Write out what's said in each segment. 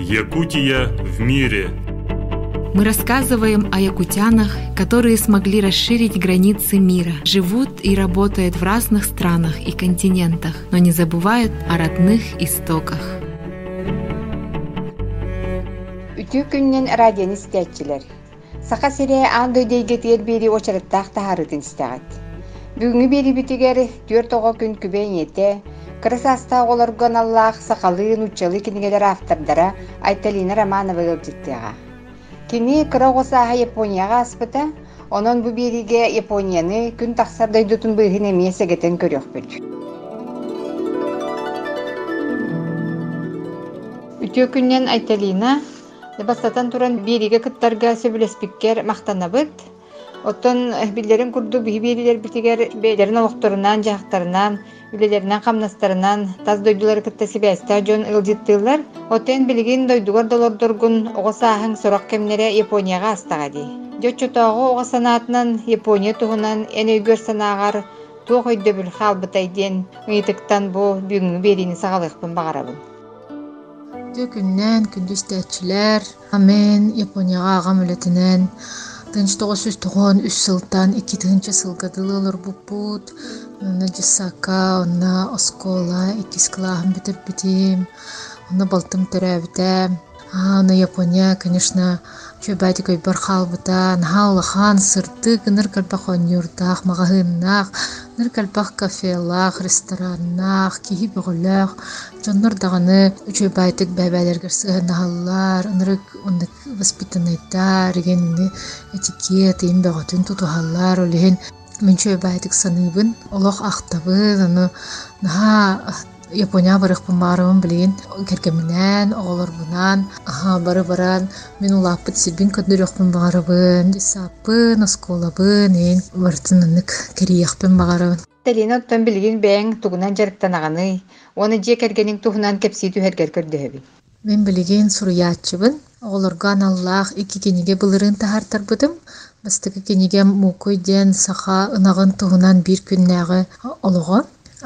Якутия в мире. Мы рассказываем о якутянах, которые смогли расширить границы мира, живут и работают в разных странах и континентах, но не забывают о родных истоках. Үтүү күннен радионы истәтчилер. Саха сире андой дейгетер бери очарыттақ тахарытын истәгәт. Бүгүнгү бери битигер 4 күн күбәйнете, кырысаста оларган Аллах сакалын учалы кинигелер автордара Айталина Романова өлҗиттега. Кини кырагысаха Японияга аспыта, онон бу бериге Японияны күн тахсардай дутун быгын эмесегетен көрөкпүт. Үтүү күннен Айталина Бастатан туран бериге кыттарга сөбүлеспиккер мактанабыт. Оттон биллерин курду биберилер битигер бейлерин олокторунан, жактарынан, үлелеринен камнастарынан таз дойдулар кытта сибэстэ жон ылжыттылар. Оттен билигин дойдугар долордоргун огосаахың сорок кемнере Японияга астагади. Жочотоого ого санаатынан Япония тугунан эн өйгөр санаагар туох өйдө бүл халбытайден ыйтыктан бу бүгүнгү берини сагалыкпын багарабын. Күннен күндүстәчиләр, амен Японияга агам үлетенен 1993 сылтан 2 сылгадылылар бупут, Наджисака, онна Оскола, 2 классым битер битим, онна балтым төрәбитә. На Япония, конечно, чөбәти көй бар халбыта, нахалахан сырты гыныр калпахон юртах, магазиннах, ныр калпах кафелах, рестораннах, киһи бөгөлөх, жоннор даганы чөбәтик бәбәләргә сыгыналар, нырык ундык воспитанныйта, регенне этикет, имбәгәтен тутухаллар, олehen мен чөбәтик саныбын, олох ахтабы, аны наха Япония барықпын барымын білген, кәркемінен, оғыларбынан, бары-баран, мен улаппыт сирбин көндіріқпін бағарыбын, десаппын, осколабын, ең бартынынық керейіқпін бағарыбын. Талина оттан білген бәң туғынан жарықтан ағаны, оны же кәргенің туғынан кәпсей түйергер көрді. Мен білген сұруятчыбын, оғыларған Аллах 2 кенеге бұлырын тахартар бұдым, бастығы кенеге мұқойден сақа ынағын туғынан 1 күннәғы олығы.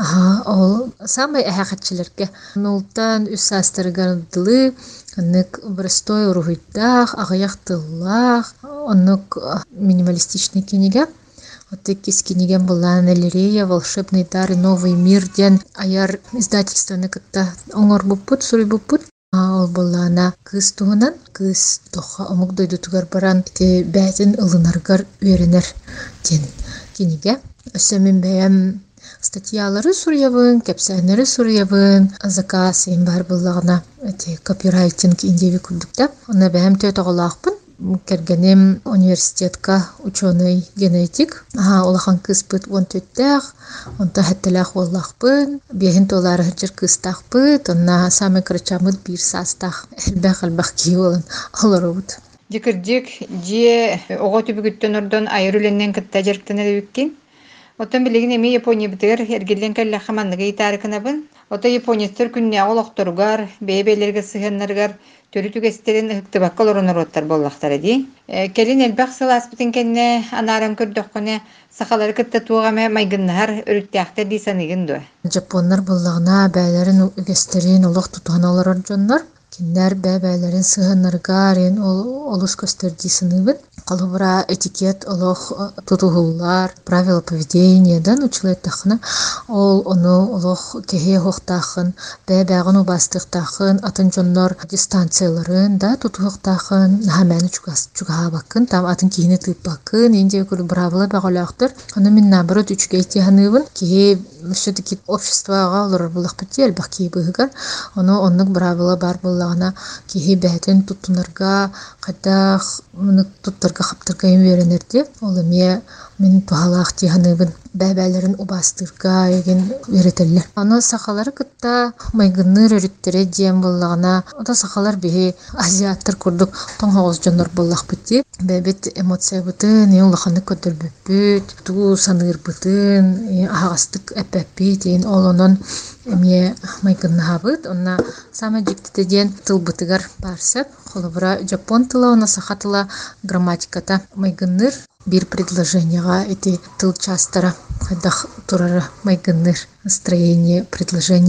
Ол самый әхәтчілерге. Нолтан үс астырыган дылы, оннык бростой урухыйдах, ағаяқтыллах, оннык минималистичный кенеге. Отык кес кенеген была Налерея, волшебный дар и новый мир ден аяр издательствоны кытта оңор буппут, сури буппут. Ол была на кыз туғынан, кыз тоха омук дойду тугар баран, те бәтін ылынаргар үйренер ден кенеге. Өсөмін бәйім статьялары сурьявын, кепсәнері сурьявын, заказ ең бар бұллағына копирайтинг индеви күлдікті. Оны бәйім төт оғылақпын. Кәргенем университетка ученый генетик. Олахан кызпыт 14-тәқ, онта хәттіләқ олақпын. Бейін толары хәджір кызтақпыт, онна самы крачамыд 1 састақ. Әлбәқ кей олын олары бұд. Декірдік, же оға түбігіттен ордон айырыленнен кітті жеріктен әдебіккен. Оттан билигин эми Япония битер эргелен калла хаманныга итарыкынабын. Ота японецтер күнне олохторугар, бебелерге сыгыннаргар төрү түгестерин ыктыбакка лоронороттар боллактар ди. Келин элбак сыласпытын кенне анарам көрдөккөне сахалары кытта тугаме майгыннар өрүттәктер ди саныгын до. Жапоннар боллагына бәйләрен үгестерин олох тутаналар жоннар. Киндер бәбәләрен сыгыннаргар олус көстөрди сыныбын. Қалыбыра этикет олох тутугуллар, правила поведения, да, училеттахына. Ол оны олох кеге хоқтахын, бәбәғын убастықтахын, атын жоннор дистанцияларын, да, тутуғықтахын, хамәні чугаға бақын, там атын кейіні тып бақын, енде көрі правила бәғалақтыр. Оны мен набыры түчіге етеханыбын, кеге все-таки обществоға олар бұлақ бітті, әлбақ кей бұғығар. Оны онық правила бар бұлағына кеге бәтін тұтынарға, қайдақ, туттарга хаптарга үйренерди. Ол эме мен тухалаах тиханыбын бәбәләрен убастырга еген үйретеллер. Аны сахалары кытта майгынныр өрүттере диен боллагына. Ота сахалар бихи азиаттар курдук тоңгоз жонор боллак бити. Бәбет эмоция бутын, улаханы көтөр бүпүт, туу саныр бутын, агастык эппит, олонон эме майгынны хабыт. Онна сама жиктите диен тыл бутыгар барсап, холобра жапон тыла, она сахатыла грамматиката майгынныр. Bir предложенияга эти тыл частара хайдах турара майгынныр настроение предложение.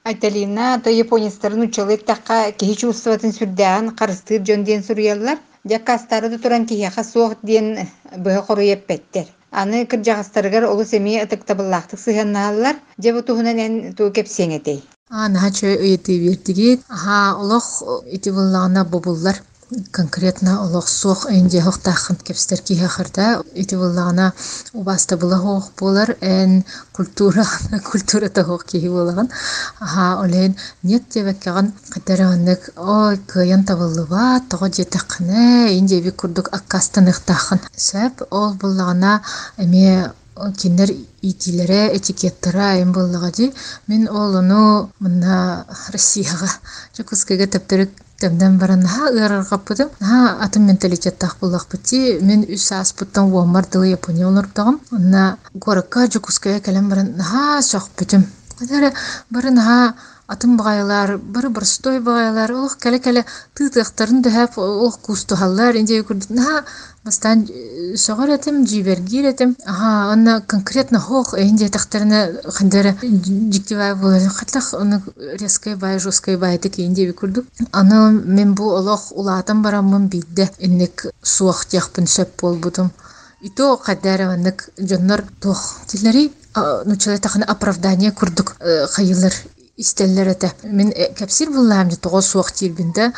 Айталина то японистарын учылык такка кихи чувствоватын сүрдәгән карыстыр жон ден сурьяллар. Жаккастары да туран кихи суох ден бөһө коруеп петтер. Аны кыржагастаргар олу семья ытыктабыллактык сыганналар. Жебу туһунан эн ту кепсеңетей. Нахачы ыйты бертиги. Олох ити буллана бобуллар. Конкретно олох суох энде хохтахын кепстер кихахарда ити буллана убаста булах болар эн культура тахох кихи булаган. Олен нет тебеккаган катераннык ой кыян табыллыба того жетакны энде би курдук аккастанык тахын. Сэп ол буллана эме киндер итилере этикеттера эм буллагади мен олуну мына Россияга жокускага тептерик Тәмдән баран ыраргаппытым. Атын менталитеттах буллакпыти. Мен үс аспыттан уаммардылы Япония олордагым. Онна горакка жукуская калам баран сохпытым. Кадары баран атын багайлар, бір стой багайлар, олох кәле-кәле тытыктарын дөһәп, олох кустухаллар инде күрдүн. Бастан согар этим, жибергир этим. Онна конкретно хох инде тактарына хандары диктивай булар. Хатлах оны резкой бай, жесткой бай тик инде күрдүк. Аны мен бу олох улатан барамын бидде. Иннек суах тяхпын сөп болбудум. Ито кадары аннык жоннор тох тилери нучалай таханы оправдание күрдүк хайылар. Истеллер это. Мен капсир буллам же того суах тирбинде.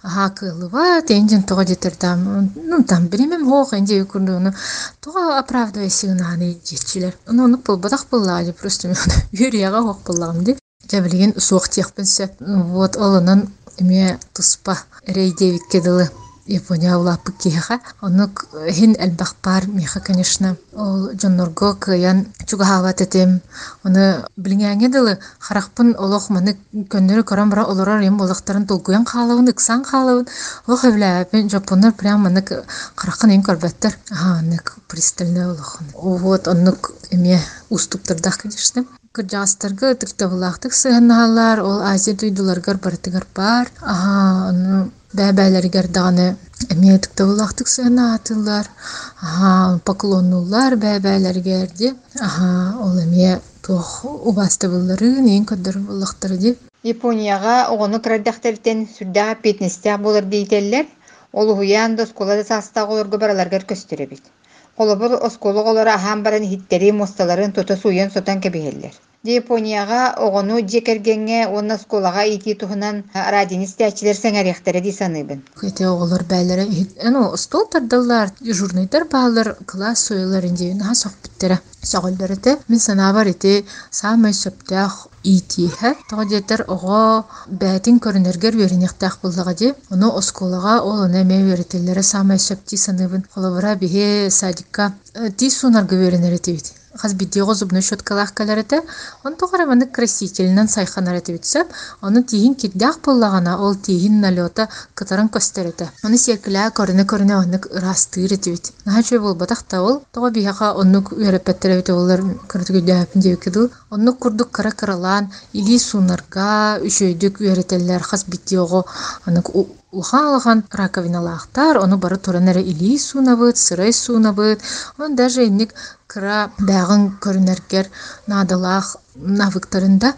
Кылыва тенжен того детердам. Там беремем хох инде күрдүн. Того оправдывая сигнаны жетчилер. Оны болбадак буллады просто мен юрияга хох буллам ди. Жабилген суах тихпенсе. Вот олонун эме туспа рейдевик кедылы. Япония улапы киха. Оны хин элбахпар миха, конечно. Ол жоннорго кыян чугахават этем. Оны билиңәңе дылы харакпын олох маны көннөрү көрөн бара олорор эм олохтарын толгуян халабын, ыксан халабын. Олох эвләпен жапоннор прям маны харакын эм көрбәттер. Нык пристально олох. Вот оннук эме уступтырдах, конечно. Кыржастарга тыктабылактык сыганналар, ол Азия туйдуларгар бартыгар бар. Оны бәбәләргә даны эмиятик тавлактык сына атылар. Поклоннулар бәбәләргә ди. Ол эмия тох убастыбылларын эң кадыр булактыр ди. Японияга огону кырдактыртен сүрдәгә петнестә булыр дийтелләр. Ол хуян да школада састагы олорга бараларга көстөрөбит. Колобор оскологолора һәм баран хиттери мосталарын тота суян сотан кебелләр. Японияга огону жекергенге онна сколага ити тухунан радинистәчләр сәңәрәхтәре ди саныбын. Кете оголор бәйләре стол тардылар, журнайтар балар класс сойлар инде сохбиттере. Сагылларыты мен санабар ити самай сөптәх ити һә тагыдетер ого бәтин көрнергер веринехтәх булдыга ди. Оны осколага ол неме верителләре самай сөпти саныбын. Холобра бихе садикка ти сунарга веринерите бит. Хаз бидиго зубной щеткалах каларыты. Он тогара маны красительнан сайханарыты битсәп, оны тиһин киддәх буллагана, ол тиһин налёта кытарын көстәрәтә. Оны секлә көрне оны растыры бит. Нахачы бул батакта ол тога бияга оны үрәпәттәре бит олар кырдыгы дәпин дип киду. Оны курдук каракаралан, или сунарга үшөйдүк үрәтәләр хаз бидиго аны ухалган раковиналахтар, оны бары турынары или сунабыт, сырай сунабыт. Он даже инник кыра бәгын көрнергер надалах навыктарында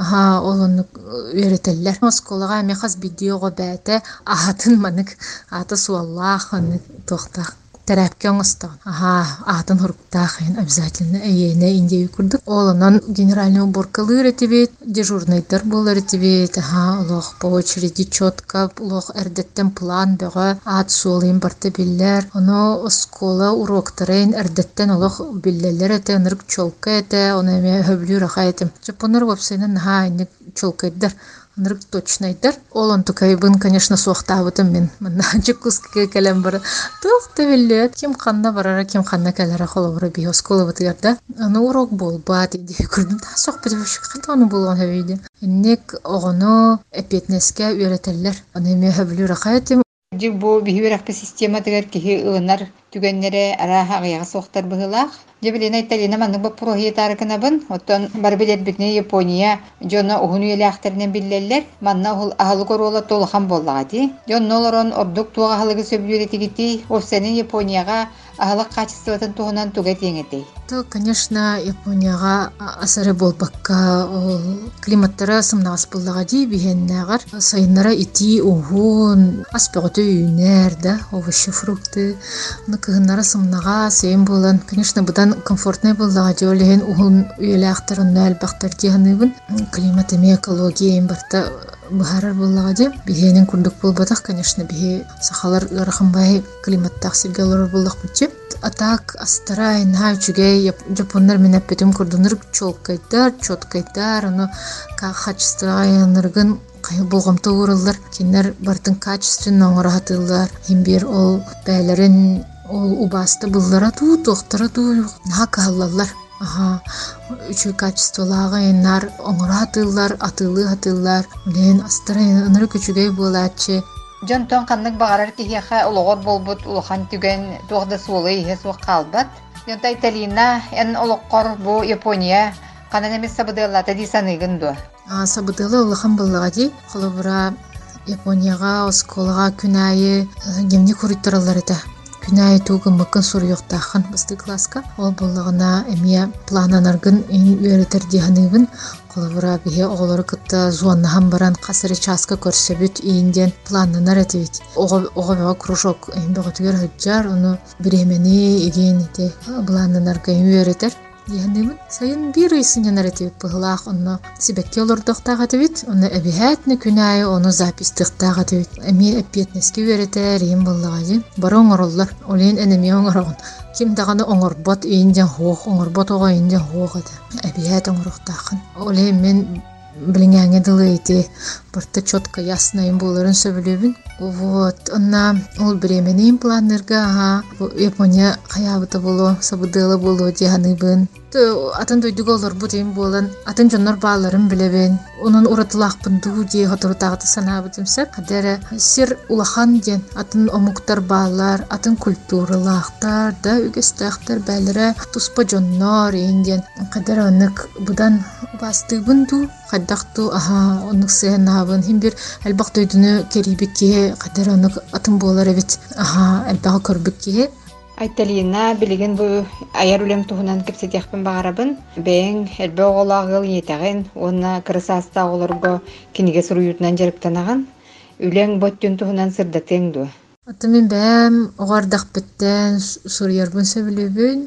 олону өйрәтәләр. Осколага мехас бидиого бәте атын манык аты суаллах аны тохтак терапкәң оста. Атын хурктах обязательно әйене инде күрдүк. Олонан генеральный уборкалы ретибет, дежурныйдар булар ретибет. Олох по очереди четко, олох эрдеттен план бәгә ат суалын барты билләр. Оны оскола уроктарын эрдеттен олох билләләр әтә нырк чолка әтә, оны ме хөблү рахайтым. Жапоннар вапсайнан инде чолкайдар. Нырк точнайдар. Олон тукайбын, конечно, суахтабытым мен. Мына жукускага калам бар. Тохта белет, ким ханна барара, ким ханна калара холобра биоскола бутыярда. Аны урок болбат иди. Күрдүм та сохбат бушкат аны болгон хабиде. Иннек огоно эпетнеске үйрәтәләр. Аны ме хөблү рахайтым. Бу бихирәк система тегәр ки ынар түгеннере ара агыяга соктар быгылак. Жебелена Италина манны бу прохиетарыкынабын. Оттон бар билет битне Япония жона угуну элахтернен биллеллер. Манна ул ахалы корола толхан боллагати. Жон нолорон ордук туга халыгы сөбүлүретигити. Ол сенин Японияга ахалык качествотун тугунан тугет еңетей. То, конечно, Японияга асары болбакка климаттара сымнагас боллагати бихеннагар сайыннара ити угун аспеготы үйнер да овощи фрукты ныкыгыннара сымнага сейин болан, конечно, будан комфортный боллагати олеген угун үйелактарын албактар дияханыбын климат эме экология барта бахарар боллагати бихенин курдук болбатак, конечно, бихе сахалар рахымбай климаттак сиргалар боллак бутче атак астарай научугей жапондар менеппетим курдунур чоткайдар аны качествояныргын кайыл болгом туурулар кинер бартын качественно оңоратылар химбир ол бәйлерин ол убасты буллара туу токтора туу накаллар үчү качестволага энар оңоратылар атылар мен астарай ыныры күчүгей болачы Жон тон каннык багарар кихиха улогор болбут улахан түген тугда сулы ихе сук калбат. Жонта Италина эн улоккор бу Япония канан эмес сабыдылата дисаныгын ду. Сабыдылы улахан боллагати холобура Японияга осколага күнайы гемни куритторалар эте. Күнайы тугын мыкын суруйоктахан басты класска ол боллагына эмия плананаргын үйрөтер диханыбын Коловра бихе оголору кытта зуаннахан баран касыры часка көрсөбүт ийинден планнанар этибит. Ого кружок бөгөтүгөр хыджар, ону биремени иген эте планнанарга үйрөтер. Яндымын сайын бир ыйсынянар этибит быгылаах онно сибекке олордоктага этибит, ону эбихэтни күнайы ону запистыктага этибит. Эми эппиетнески үйрөтер ийин боллагажы. Бары оңороллар, олен энеми оңорогун. Ким даганы оңорбот ийинден хоох, оңорбот ого ийинден хоох эте. Эбихэт оңороктаахын. Оле мен билиңэңе дылы эти барта чётко ясно им боларын сөбүлөбүн. Вот, онна ол биременин планнерга Япония хаябыта боло, сабыдыла боло диханыбын. Атын дойдуголор бут им болан, атын жоннор бааларын билебен. Онун уратылаакпын дуу дие хотурутагыты санаабытымсак. Кадere сир улахан ден атын омуктар баалар, атын культуралаактар да үгестактар бәлере туспа жоннор инден. Кадere онык будан бастыбын дуу. Каддакту онук сыйнабын химбир албак дойдуну керибикке кадere онык атын болар эбит. Албага көрбүкке. Айталина билеген бу аяр үлем туһунан кепсетяхпын багарабын. Бең элбе оголагыл етеген, онна кырсаста олорго киниге суруютунан жарыктанаган. Үлең боттун туһунан сырдатең ду. Атымын бәм оғардақ біттен сурьербын сөбілебін.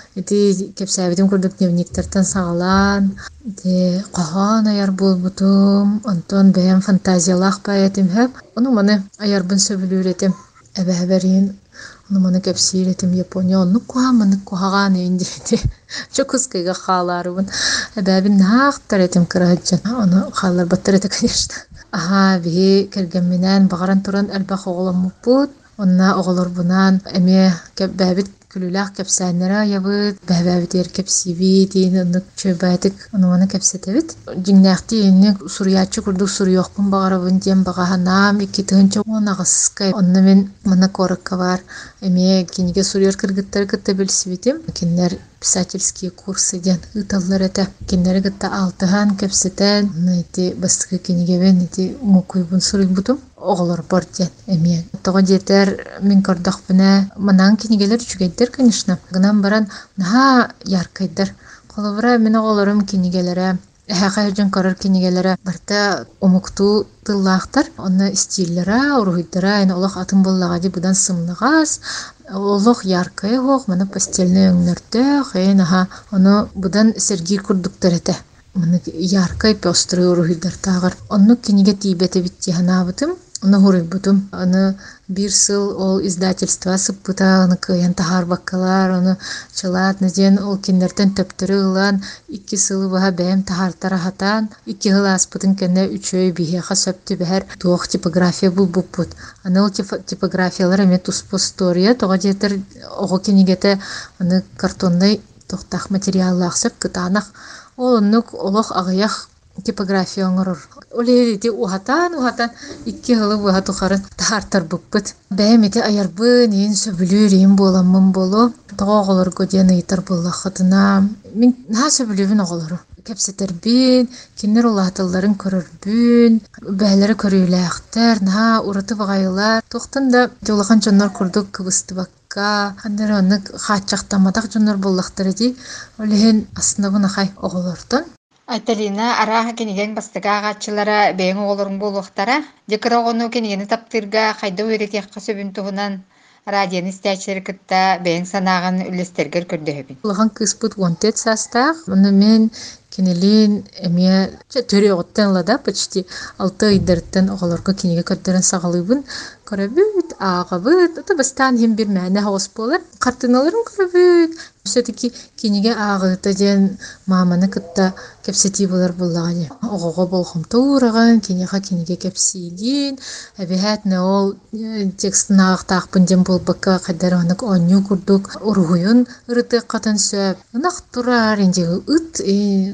Эти кепсәбетім күрдік дневниктартан сағалан. Эти қоған аяр бол бұтым. Антон бәм фантазиялақ бәйетім хэп. Оны маны аярбын сөбілеретім. Әбәбәрін. Оны маны кепсиретім Япония. Оны қоған өйіндейді. Çok ıskıga xalarыбын. Әбәбін нақтар етім кірағыджан. Оны xalar баттар еті, конечно. Бі кәргенменен бағаран тұран әлбақ оғылым мұппыд. Онна оғылыр бұнан әме бәбіт күліләқ кәпсәнлері ябыд. Бәбәбіт ер кәпсиби дейін ұнық чөбәдік. Оны кәпсетәбіт. Жіңнәқті енне сұриятчы күрдік сұриоқпын бағарабын дем бағаханам. Екі тұғынча оны ағысқай. Онна мен мұны корыққа бар. Әме кенеге сұриор кіргіттар күтті білсібетім. Кенлер писательские курсы ден ыталлар это. Кенлер гытта алтыхан кәпсетән. Эти бастығы кенегебен эти мукуйбын сұрый бұтым. Оғылар бар ден. Әме. Тоға жетер мен көрдіқ бұна. Манан кенегелер жүгейдер, конечно. Гынан баран наға яркайдар. Қолыбыра мен оғыларым кенегелері. Әхәқайыржын көрір кенегелері барта омукту тыллақтар. Оны стиллера, урғыдыра, әне олақ атын боллағади бұдан сымнығас. Олық яркай хоқ, маны пастельный өңнөртөк, оны бұдан сергей күрдіктар әті. Маны яркай пёстрый урғыдар тағыр. Оны кенеге тейбеті бітті ханабытым. Оны хурый бұтым. Оны bir сыл ол издательства сыппыта, оны кыян тахар баккалар, оны чылат, неден ол кендерден төптірі ұлан, 2 сылы бұға бәйім тахартара хатан, 2 ғыл аспытын кәне 3 бейхеға сөпті бәр туық типография бұл бұппыт. Аны ол типографиялар әме туспо стория, тоға жетір оғы кенегеті картондай тоқтақ материаллақ сөп кытанақ. Ол онық олық ағаяқ типография оңорор. Олети ухатан икки хылы буга тухарын тартар буппут. Бәмете аярбын ен сөбүлүр ен боламын боло. Тоголорго ден ыйтар боллахатына. Мен на сөбүлүбүн оголору. Кепсетербин, кинер улатыларын көрөрбүн, бәлері көрүйләқтер, на ураты бағайлар. Тоқтын да жолақан жоннор күрдік кыбысты бакка, қандары оны қатшақтамадақ жоннор боллақтары дей, олеген астынабын ақай оғылырдың. Айталина араха кенеген бастыга агачылара бэйин оголорун болуктара декара огону кенегени таптырга кайда үйретиякка сөбүн тугунан радион истячилер кытта бэйин санааган үлестергер көрдөһөбүн. Улахан кыспыт вонтет састах, оны мен кенелин эме төрө оттан лада почти 6 айдырттан оголорго кенеге көттөрөн сагалыбын көрөбүт, агабыт, ата бастан хем бир мәне хос болар, картыналарын көрөбүт. Все-таки кенеге агыта ден маманы кытта кепсети болар буллагы. Огого болгом туураган кенеге кепсигин, әбихәтне ол текстын агтакпын ден болбакка кадаранык оню курдук ургуйун ырыты катын сөп. Нак турар инде ут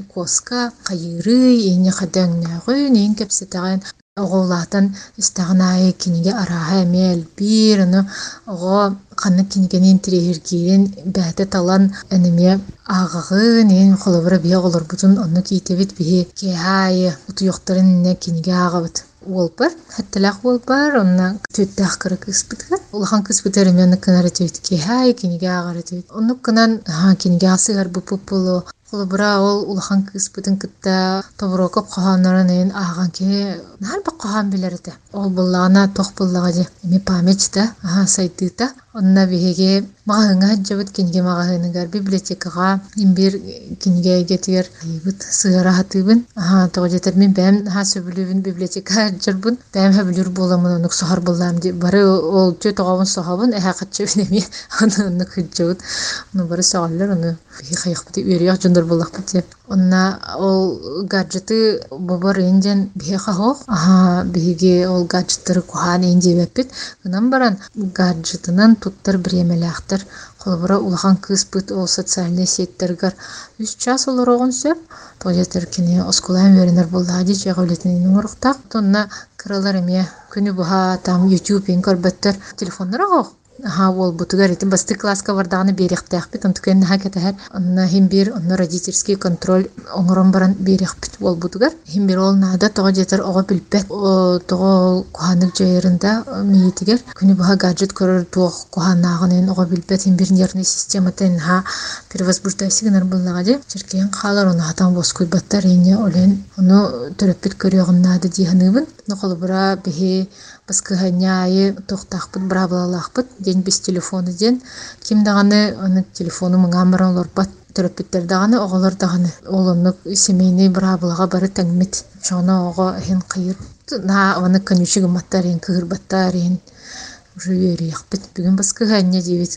коска кайыры эне кадаңнагы нен кепсетаган оголатан истагнай кенеге араха эмел бир ого канны кенегенин тирехиргирин бәте талан энеме агыгын эн холобра бия олор бутун онну китебит бие кехай утуйоктарын не кенеге агыбыт волпар хатталах волпар онна төттах кырык испытка улахан кыспытары мен канары төт кехай кенеге агары төт онну канан кенеге асыгар бупупулу холобра ол улахан кыспытын кытта тоброкоп каханнарын эн аган ке нар ба кахан билерде ол буллана тох буллагы эми памятьта сайтыта онна биһиге магаһыңа жабыт кинге магаһыгар библиотекага имбир кинге гетигер айбыт сыгара хатыбын тогожетер мен бәм сөбүлүбүн библиотека жырбын бәм хөбүлүр боламын онук сохар буллам ди бары ол чө тогобун сохабын катчыбын эми аны кыджыбыт ну бары согаллар аны хайхпыты үрөк жондар буллакпыт онна ол гаджеты бобор энжен биха хох биһиге ол гаджеттер кухан энже беппит гынан баран гаджетынан туттар биремелактар холбора улахан кыспыт ол социальный сеттергер 3 час олорогон сөп тоjetер кини оскулан веренер буллади чеголетин нуруктак тонна кралар эме күнү буха там YouTube ин көрбөттөр телефоннора хох ол бутугар итин басты класска бардаганы беректәхпит онтукен хакетер онна химбир онна родительский контроль оңорон баран берекпит ол бутугар химбир ол нада тога жетер ого билбет тога куханык жайырында миетигер күнү буга гаджет көрөр тог куханагын ого билбет химбир нервный систематен перевозбуждающийгнер буллагы черкен калар оны атан боскуй баттар эне олен ону төрөппит көрөгөн нада диханыбын ноколбура бихи баскыганяй тохтахпыт брабалалахпыт ден без телефоны ден ким даганы аны телефону мыңамыран лорбат төрөппиттер даганы оголор даганы олонук семейный брабалага бары таңмит шона ого хен кыйыр на аны конючуг маттарын кырбаттарын жүйөрүяхпыт бүгүн баскыганя дебит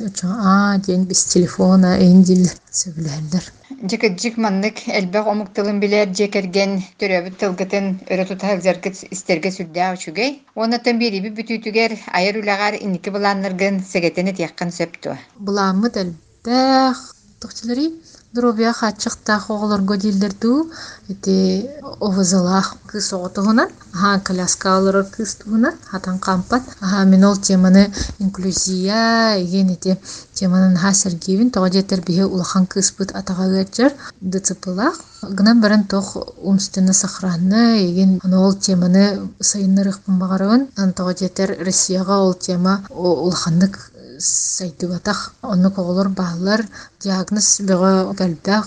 ден без телефона эндил сөбүләндер Жик маннык элбек омуктылын билер жекерген төрөбүт тылгытын өрөтутар заркыт истерге сүрдә учугай. Онотон бириби бүтүтүгер айыр улагар инники буланныргын сегетене тияккан сөптү. Буламыт элбек тохчулары дробия хачыкта оголорго дилдерду эти овозалах кысоготугунан коляскалар кыстугунан хатан кампат мен ол теманы инклюзия эти теманын хасергивин тогожетер бие улахан кыспыт атагагачар дцплах гынан баран тох умственно сохранны еген ол теманы сайыннырыкпын багарабын тогожетер Россияга ол тема улахандык сайтыгатах оны коголор баалар диагноз бего галбак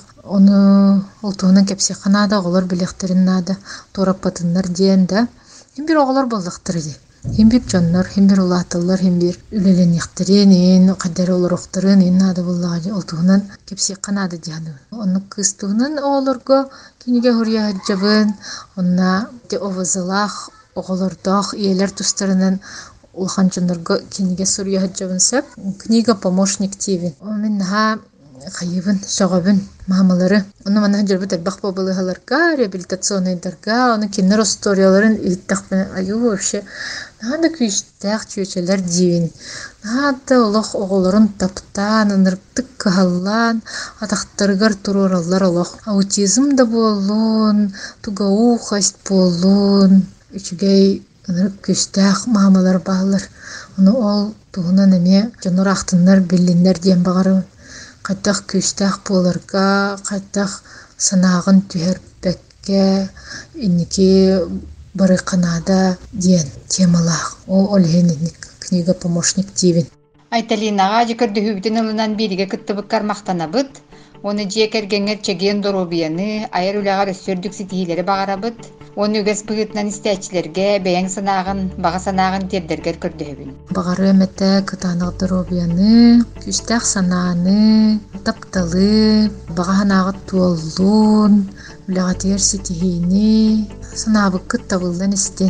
оны олтугунан кепсе канада оголор билектерин нада торапатыннар диен да бир оголор болдуктыр ди бир жоннор бир улатылар бир үлеленектерин кадар олорокторун нада буллагы олтугунан кепсе канада дианы оны кыстугунан оголорго киниге хурия жабын онна де овозалах оголордох иелер тустарынан улхан жоннорго киниге сурия хаджабын сөп книга помощник тиви. Мен хайыбын, соғабын мамалары. Оны мана жүрбі тәлбақ бабылығаларға, реабилитационайдарға, оны кеннер историяларын үйттіқпен, айу вообще, нағады күйістәқ түйечелер дейін. Нағады олық оғыларын таптан, ынырптық қағалан, атақтарғар тұроралар олық. Аутизм да болуын, туғау қаст болуын, үшігей ынырып күйістәқ мамалар бағылар. Оны ол туғынан әме жаныр ақтынлар, белінлер дейін бағары. Қаттақ күштақ боларға, қаттақ санағын түйербәкке, инеке бары қанада дейін темалақ. Ол олхен книга помощник дейін. Айталинаға жекірді хүбітін ылынан беріге күттібіккар мақтанабыд, оны жекергенер чеген доробияны, айыр үліғар өссөрдік сетихилері бағарабыд, оны үгес бұғытынан істәчілерге бәйін санағын, баға санағын тердергер көрді. Бағары әмәтті күтанық доробияны, күштақ санағыны, тапталы, баға санағы туоллуын, үліға тегер сетихini, санабы күт табылдан істен.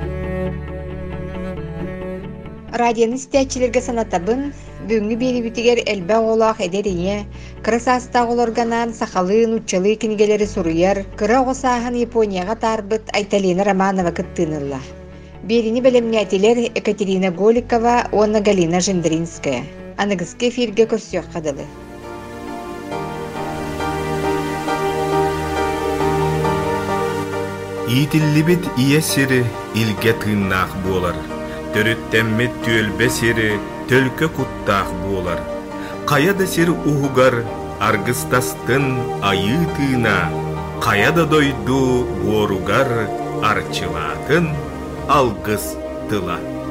Радионы істәчілерге санатабын, бүгінгі бері бүтігер әлбә олақ әдеріне, кыры састақ оларганан сақалын, ұтчалы кенігелері сұруяр, кыры оғысағын Японияға тарбыт Айталина Романова күттінілла. Беріні бәлемнәтелер Екатерина Голикова, Онна Галина Жендринская. Анығызке эфирге көрсіяқ қадылы. Итиллибит ие сири илге тыыннаах буолар. Төрүттэммет түөлбе сири төлкө куттаах буолар. Каяда сир ухугар аргыстастын айы тыына. Каяда дойду боругар арчылаатын алгыс тыла.